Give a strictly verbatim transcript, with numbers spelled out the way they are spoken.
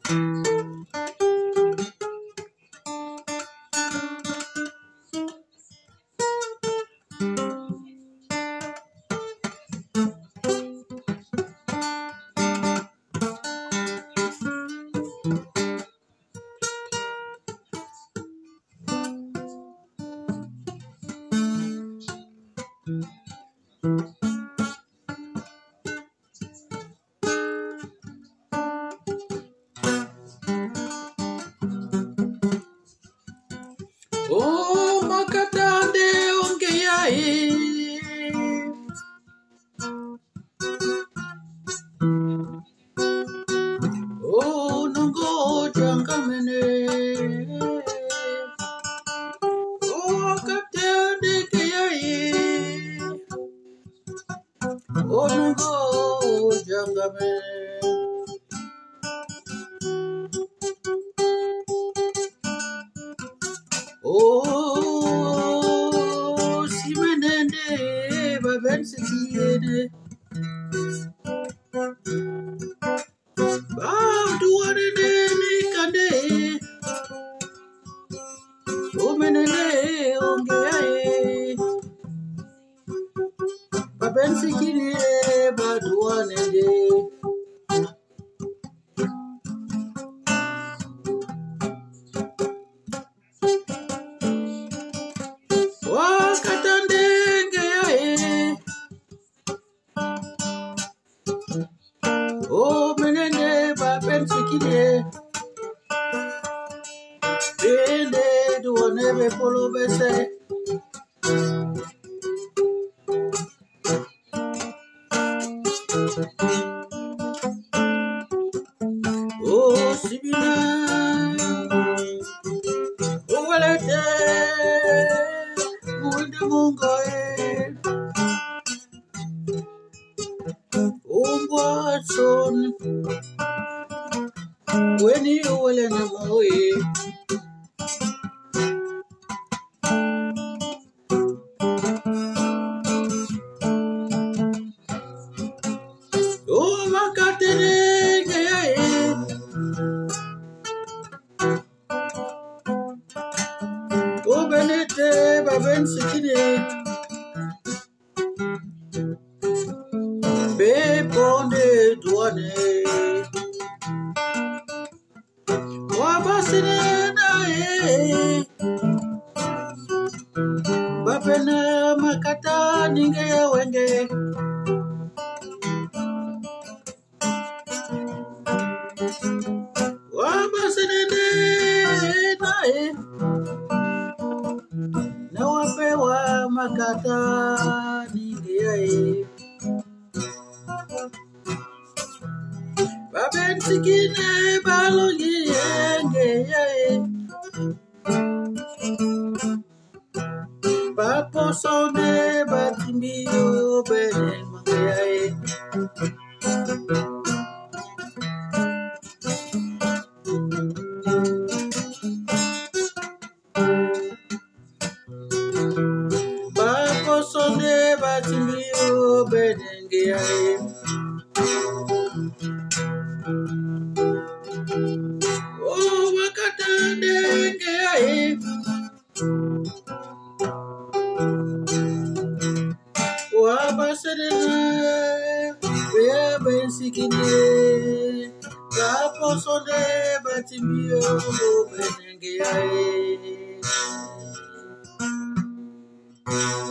Oh, makatande ongeyai. Oh, nungo jangamene. Oh, katande keyai. Oh, nungo jangamene. Oh, simenende babensikiene. Bow to what it is, kande. Oh, menende ongeae. Babensikiene baduanende. Wakatande ngeae. Oh, menende babensikiene. Bende duanebe polo bese. Oh, Sibina, oh, Walete, Muinde Mungoe, oh, Watson, when you will in the Moe, oh, Macatene, oh, Benete, Baben Sikine, Beponde, Duane, Wabasine, Babena, Macata, Ninge, Wenge. Wabasinene nae na wapewa makata ningeae babensikine balogi yengeae baposone batimbiyo bene mangeae baposone batimbiyo benengeae oh wakatande ngeae Wabasinene bebensikine baposone batimbiyo benengeae